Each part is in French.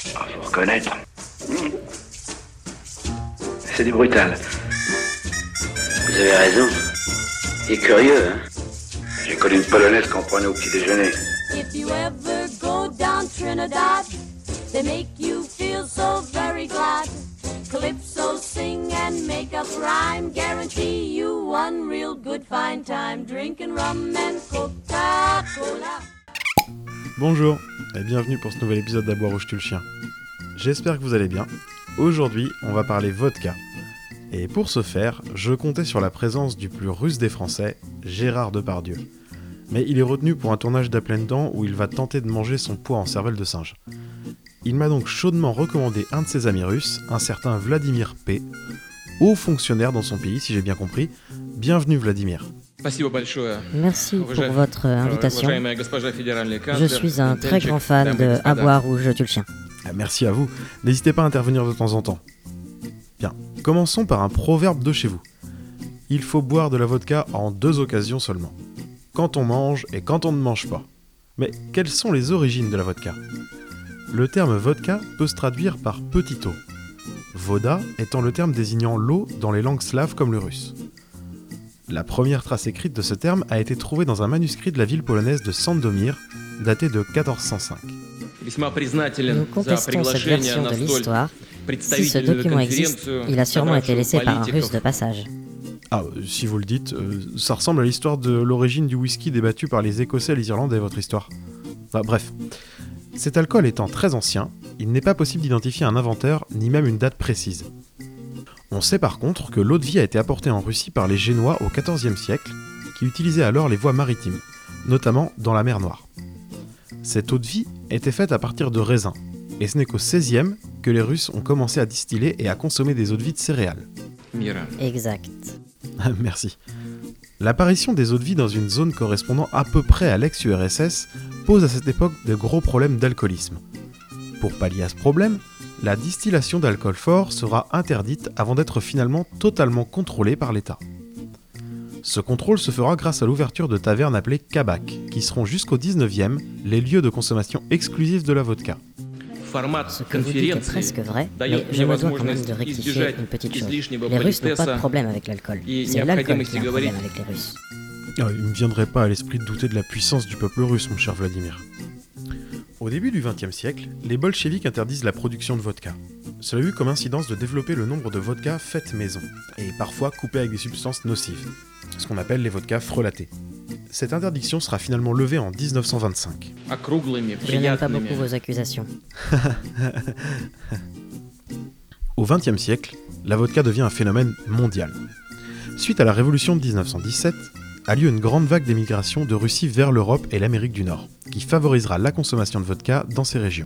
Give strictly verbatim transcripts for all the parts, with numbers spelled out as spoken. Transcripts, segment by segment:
Ah, faut reconnaître. C'est du brutal. Vous avez raison. Il est curieux, hein. J'ai connu une polonaise qu'on prenait au petit déjeuner. If you ever go down Trinidad, they make you feel so very glad. Calypso sing and make up rhyme, guarantee you one real good fine time, drinking rum and Coca-Cola. Bonjour et bienvenue pour ce nouvel épisode d'À boire où je tue le chien. J'espère que vous allez bien. Aujourd'hui, on va parler vodka. Et pour ce faire, je comptais sur la présence du plus russe des Français, Gérard Depardieu. Mais il est retenu pour un tournage d'à plein temps où il va tenter de manger son poids en cervelle de singe. Il m'a donc chaudement recommandé un de ses amis russes, un certain Vladimir P, haut fonctionnaire dans son pays, si j'ai bien compris. Bienvenue Vladimir. Merci pour votre invitation. Je suis un très grand fan de À boire où je tue le chien. Merci à vous. N'hésitez pas à intervenir de temps en temps. Bien, commençons par un proverbe de chez vous. Il faut boire de la vodka en deux occasions seulement. Quand on mange et quand on ne mange pas. Mais quelles sont les origines de la vodka ? Le terme vodka peut se traduire par petit eau. Voda étant le terme désignant l'eau dans les langues slaves comme le russe. La première trace écrite de ce terme a été trouvée dans un manuscrit de la ville polonaise de Sandomir, daté de quatorze cent cinq. Nous contestons cette version de l'histoire. Si ce document existe, il a sûrement été laissé par un russe de passage. Ah, si vous le dites, euh, ça ressemble à l'histoire de l'origine du whisky débattue par les Écossais et les Irlandais, votre histoire. Enfin, bref. Cet alcool étant très ancien, il n'est pas possible d'identifier un inventeur, ni même une date précise. On sait par contre que l'eau-de-vie a été apportée en Russie par les Génois au quatorzième siècle, qui utilisaient alors les voies maritimes, notamment dans la mer Noire. Cette eau-de-vie était faite à partir de raisins, et ce n'est qu'au seizième que les Russes ont commencé à distiller et à consommer des eaux-de-vie de céréales. Exact. Merci. L'apparition des eaux-de-vie dans une zone correspondant à peu près à l'ex-U R S S pose à cette époque de gros problèmes d'alcoolisme. Pour pallier à ce problème, la distillation d'alcool fort sera interdite avant d'être finalement totalement contrôlée par l'État. Ce contrôle se fera grâce à l'ouverture de tavernes appelées kabaks, qui seront jusqu'au dix-neuvième les lieux de consommation exclusifs de la vodka. Ce que vous dites est presque vrai, mais je me dois quand même de rectifier une petite chose. Les Russes n'ont pas de problème avec l'alcool. C'est l'alcool qui a un problème avec les Russes. Ah, il ne me viendrait pas à l'esprit de douter de la puissance du peuple russe, mon cher Vladimir. Au début du vingtième siècle, les bolcheviks interdisent la production de vodka. Cela a eu comme incidence de développer le nombre de vodkas faites maison, et parfois coupées avec des substances nocives, ce qu'on appelle les vodkas frelatées. Cette interdiction sera finalement levée en dix-neuf cent vingt-cinq. Je n'aime pas beaucoup vos accusations. Au vingtième siècle, la vodka devient un phénomène mondial. Suite à la révolution de dix-neuf cent dix-sept, a lieu une grande vague d'émigration de Russie vers l'Europe et l'Amérique du Nord, qui favorisera la consommation de vodka dans ces régions.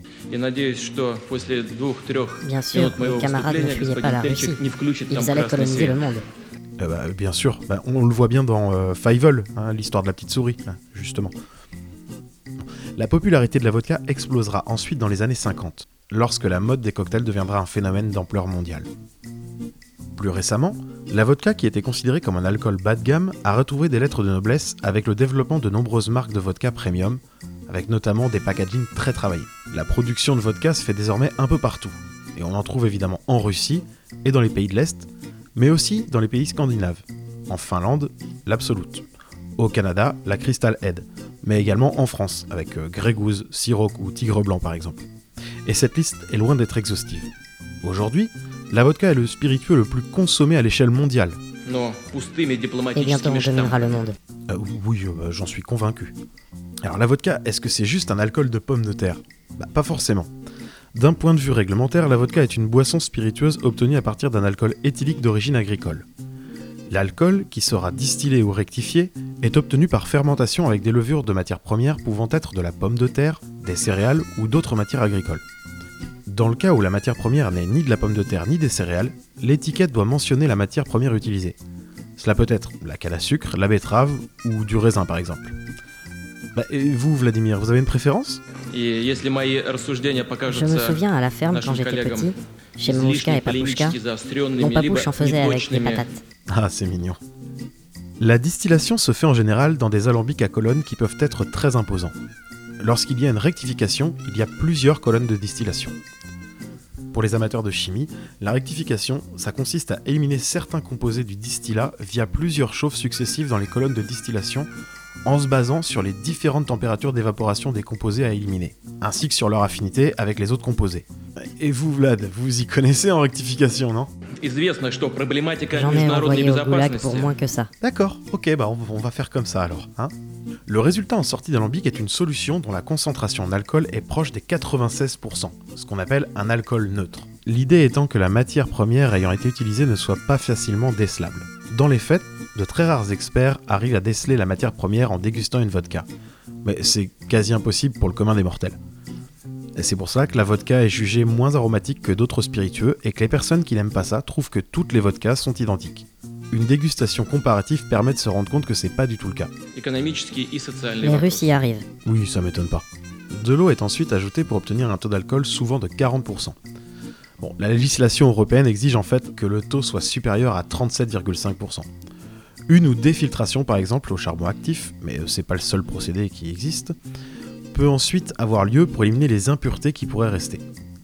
Bien sûr, mes camarades ne fuyaient pas la Russie. Ils allaient coloniser le monde. Euh bah, bien sûr, bah, on le voit bien dans euh, Fievel, hein, l'histoire de la petite souris, hein, justement. La popularité de la vodka explosera ensuite dans les années cinquante, lorsque la mode des cocktails deviendra un phénomène d'ampleur mondiale. Plus récemment, la vodka, qui était considérée comme un alcool bas de gamme, a retrouvé des lettres de noblesse avec le développement de nombreuses marques de vodka premium, avec notamment des packagings très travaillés. La production de vodka se fait désormais un peu partout, et on en trouve évidemment en Russie et dans les pays de l'Est, mais aussi dans les pays scandinaves. En Finlande, l'Absolute. Au Canada, la Crystal Head, mais également en France, avec euh, Grey Goose, Ciroc ou Tigre Blanc par exemple. Et cette liste est loin d'être exhaustive. Aujourd'hui, la vodka est le spiritueux le plus consommé à l'échelle mondiale. Et bientôt on dominera le monde. Euh, oui, euh, j'en suis convaincu. Alors la vodka, est-ce que c'est juste un alcool de pomme de terre ? Bah, pas forcément. D'un point de vue réglementaire, la vodka est une boisson spiritueuse obtenue à partir d'un alcool éthylique d'origine agricole. L'alcool, qui sera distillé ou rectifié, est obtenu par fermentation avec des levures de matières premières pouvant être de la pomme de terre, des céréales ou d'autres matières agricoles. Dans le cas où la matière première n'est ni de la pomme de terre ni des céréales, l'étiquette doit mentionner la matière première utilisée. Cela peut être la canne à sucre, la betterave ou du raisin par exemple. Bah, et vous, Vladimir, vous avez une préférence ? Je me souviens à la ferme quand j'étais petit, chez Mamushka et Papouchka, mon papouche en faisait avec des patates. Ah, c'est mignon. La distillation se fait en général dans des alambics à colonnes qui peuvent être très imposants. Lorsqu'il y a une rectification, il y a plusieurs colonnes de distillation. Pour les amateurs de chimie, la rectification, ça consiste à éliminer certains composés du distillat via plusieurs chauffes successives dans les colonnes de distillation, en se basant sur les différentes températures d'évaporation des composés à éliminer, ainsi que sur leur affinité avec les autres composés. Et vous, Vlad, vous y connaissez en rectification, non ? J'en ai envoyé au goulag pour moins que ça. D'accord, ok, bah on, on va faire comme ça alors. Hein. Le résultat en sortie d'alambic est une solution dont la concentration en alcool est proche des quatre-vingt-seize pour cent, ce qu'on appelle un alcool neutre. L'idée étant que la matière première ayant été utilisée ne soit pas facilement décelable. Dans les faits, de très rares experts arrivent à déceler la matière première en dégustant une vodka. Mais c'est quasi impossible pour le commun des mortels. Et c'est pour ça que la vodka est jugée moins aromatique que d'autres spiritueux et que les personnes qui n'aiment pas ça trouvent que toutes les vodkas sont identiques. Une dégustation comparative permet de se rendre compte que c'est pas du tout le cas. Les Russes y arrivent. Oui, ça m'étonne pas. De l'eau est ensuite ajoutée pour obtenir un taux d'alcool souvent de quarante pour cent. Bon, la législation européenne exige en fait que le taux soit supérieur à trente-sept virgule cinq pour cent. Une ou des filtrations par exemple au charbon actif, mais c'est pas le seul procédé qui existe, peut ensuite avoir lieu pour éliminer les impuretés qui pourraient rester.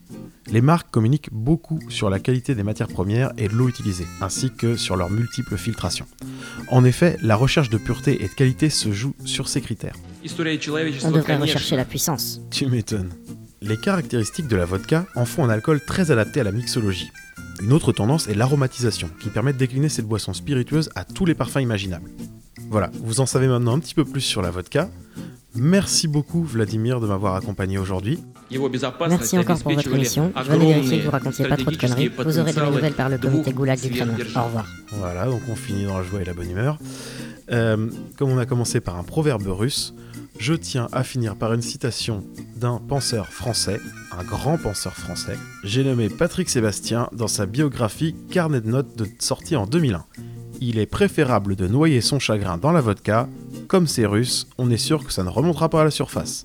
Les marques communiquent beaucoup sur la qualité des matières premières et de l'eau utilisée, ainsi que sur leurs multiples filtrations. En effet, la recherche de pureté et de qualité se joue sur ces critères. On devrait rechercher la puissance. Tu m'étonnes. Les caractéristiques de la vodka en font un alcool très adapté à la mixologie. Une autre tendance est l'aromatisation, qui permet de décliner cette boisson spiritueuse à tous les parfums imaginables. Voilà, vous en savez maintenant un petit peu plus sur la vodka. Merci beaucoup Vladimir de m'avoir accompagné aujourd'hui. Merci encore pour votre émission. Je venais vérifier que vous racontiez pas trop de conneries. Vous aurez de mes nouvelles par le comité Goulag du Kremlin. Au revoir. Voilà, donc on finit dans la joie et la bonne humeur. Euh, comme on a commencé par un proverbe russe, je tiens à finir par une citation d'un penseur français, un grand penseur français. J'ai nommé Patrick Sébastien dans sa biographie Carnet de notes de sortie en deux mille un. Il est préférable de noyer son chagrin dans la vodka. Comme c'est russe, on est sûr que ça ne remontera pas à la surface.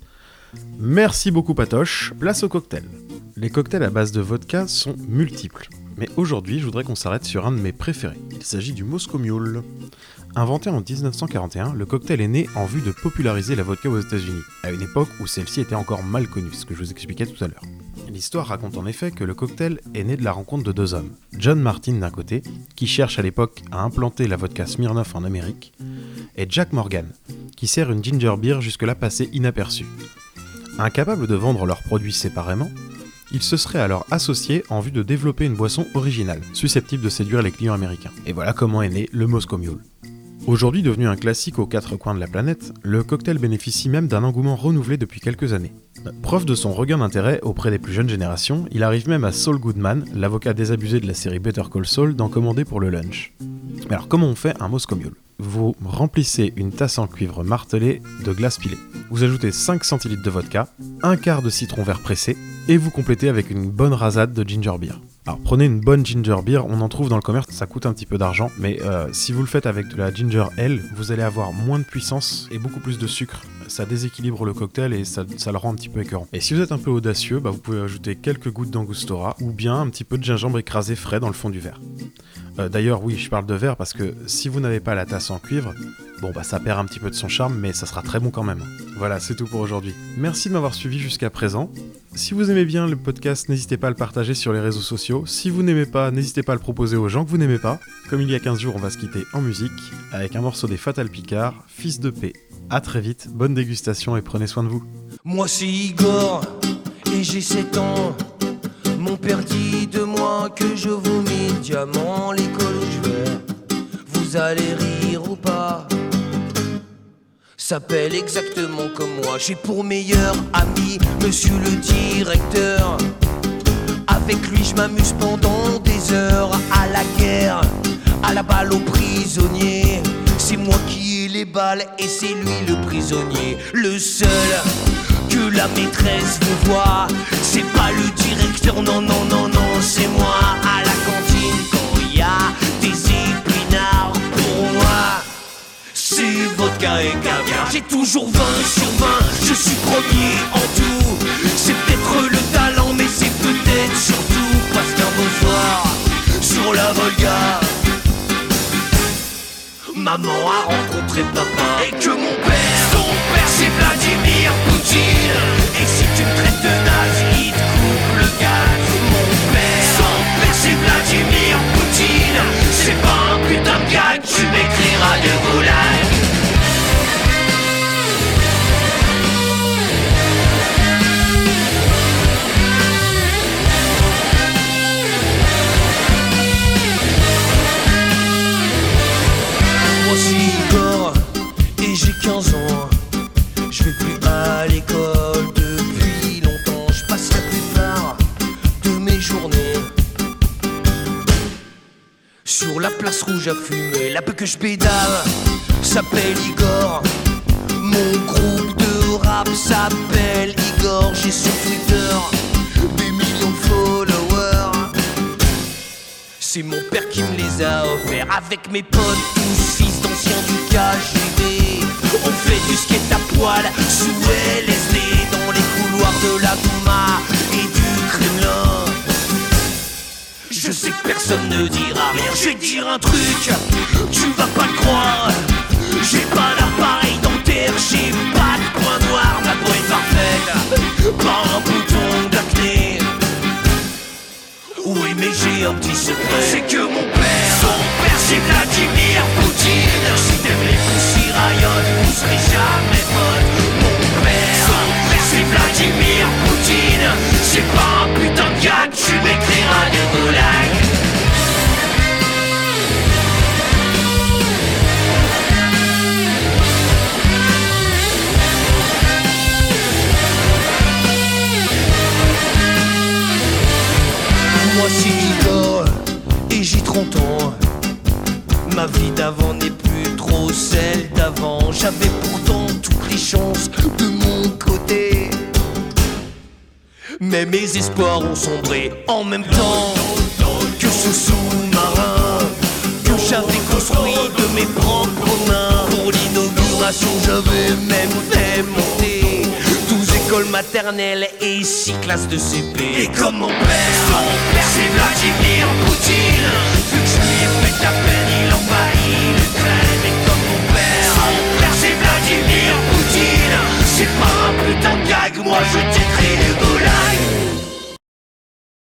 Merci beaucoup Patoche, place au cocktail. Les cocktails à base de vodka sont multiples, mais aujourd'hui je voudrais qu'on s'arrête sur un de mes préférés. Il s'agit du Moscow Mule. Inventé en dix-neuf cent quarante et un, le cocktail est né en vue de populariser la vodka aux États-Unis, à une époque où celle-ci était encore mal connue, ce que je vous expliquais tout à l'heure. L'histoire raconte en effet que le cocktail est né de la rencontre de deux hommes, John Martin d'un côté, qui cherche à l'époque à implanter la vodka Smirnoff en Amérique, et Jack Morgan, qui sert une ginger beer jusque-là passée inaperçue. Incapables de vendre leurs produits séparément, ils se seraient alors associés en vue de développer une boisson originale, susceptible de séduire les clients américains. Et voilà comment est né le Moscow Mule. Aujourd'hui devenu un classique aux quatre coins de la planète, le cocktail bénéficie même d'un engouement renouvelé depuis quelques années. Preuve de son regain d'intérêt auprès des plus jeunes générations, il arrive même à Saul Goodman, l'avocat désabusé de la série Better Call Saul, d'en commander pour le lunch. Mais alors comment on fait un Moscow Mule ? Vous remplissez une tasse en cuivre martelée de glace pilée. Vous ajoutez cinq centilitres de vodka, un quart de citron vert pressé, et vous complétez avec une bonne rasade de ginger beer. Alors prenez une bonne ginger beer, on en trouve dans le commerce, ça coûte un petit peu d'argent, mais euh, si vous le faites avec de la ginger ale, vous allez avoir moins de puissance et beaucoup plus de sucre. Ça déséquilibre le cocktail et ça, ça le rend un petit peu écœurant. Et si vous êtes un peu audacieux, bah vous pouvez ajouter quelques gouttes d'angostura ou bien un petit peu de gingembre écrasé frais dans le fond du verre. Euh, d'ailleurs, oui, je parle de verre parce que si vous n'avez pas la tasse en cuivre, bon bah ça perd un petit peu de son charme, mais ça sera très bon quand même. Voilà, c'est tout pour aujourd'hui. Merci de m'avoir suivi jusqu'à présent. Si vous aimez bien le podcast, n'hésitez pas à le partager sur les réseaux sociaux. Si vous n'aimez pas, n'hésitez pas à le proposer aux gens que vous n'aimez pas. Comme il y a quinze jours, on va se quitter en musique avec un morceau des Fatal Picard, Fils de paix. A très vite, bonne dégustation et prenez soin de vous. Moi c'est Igor et j'ai sept ans. Mon père dit de moi que je vomis le diamant, l'école où je vais. Vous allez rire ou pas? S'appelle exactement comme moi. J'ai pour meilleur ami monsieur le directeur. Avec lui je m'amuse pendant des heures. À la guerre, à la balle aux prisonniers. C'est moi qui ai les balles et c'est lui le prisonnier. Le seul que la maîtresse vous voit, c'est pas le directeur, non, non, non, non, c'est moi. À la cantine quand il y a des épinards pour moi, c'est vodka et caviar. J'ai toujours vingt sur vingt, je suis premier en tout. C'est peut-être le talent, mais c'est peut-être surtout parce qu'un beau soir, sur la Volga, maman a rencontré papa. Et que mon père, son père c'est Vladimir Poutine. Et si tu me traites de naze, il te coupe le gaz. Mon père Sur la place rouge à fumer, la peu que je pédale s'appelle Igor. Mon groupe de rap s'appelle Igor. J'ai sur Twitter des millions de followers. C'est mon père qui me les a offerts. Avec mes potes, tous fils d'anciens du K G B. On fait du skate à poil sous L S D dans les couloirs de la Douma et du Kremlin. Je sais que personne ne dira rien. Je vais te dire un truc, tu vas pas le croire. J'ai pas d'appareil dentaire, j'ai pas de point noir. Ma peau est parfaite, pas un bouton d'acné. Oui mais j'ai un petit secret, c'est que mon père, son père c'est Vladimir Poutine. Si t'aimes les poussies rayonnent, vous serez jamais potes. Mon père, son père c'est Vladimir Poutine. C'est pas un putain de gars que tu m'écriras des boulags. Moi c'est Igor et j'ai trente ans. Ma vie d'avant n'est plus trop celle d'avant. J'avais pourtant toutes les chances de mon côté, mais mes espoirs ont sombré en même temps que ce sous-marin que j'avais construit de mes propres mains. Pour l'inauguration j'avais même fait monter douze écoles maternelles et six classes de C P. Et comme mon père, son père c'est Vladimir Poutine.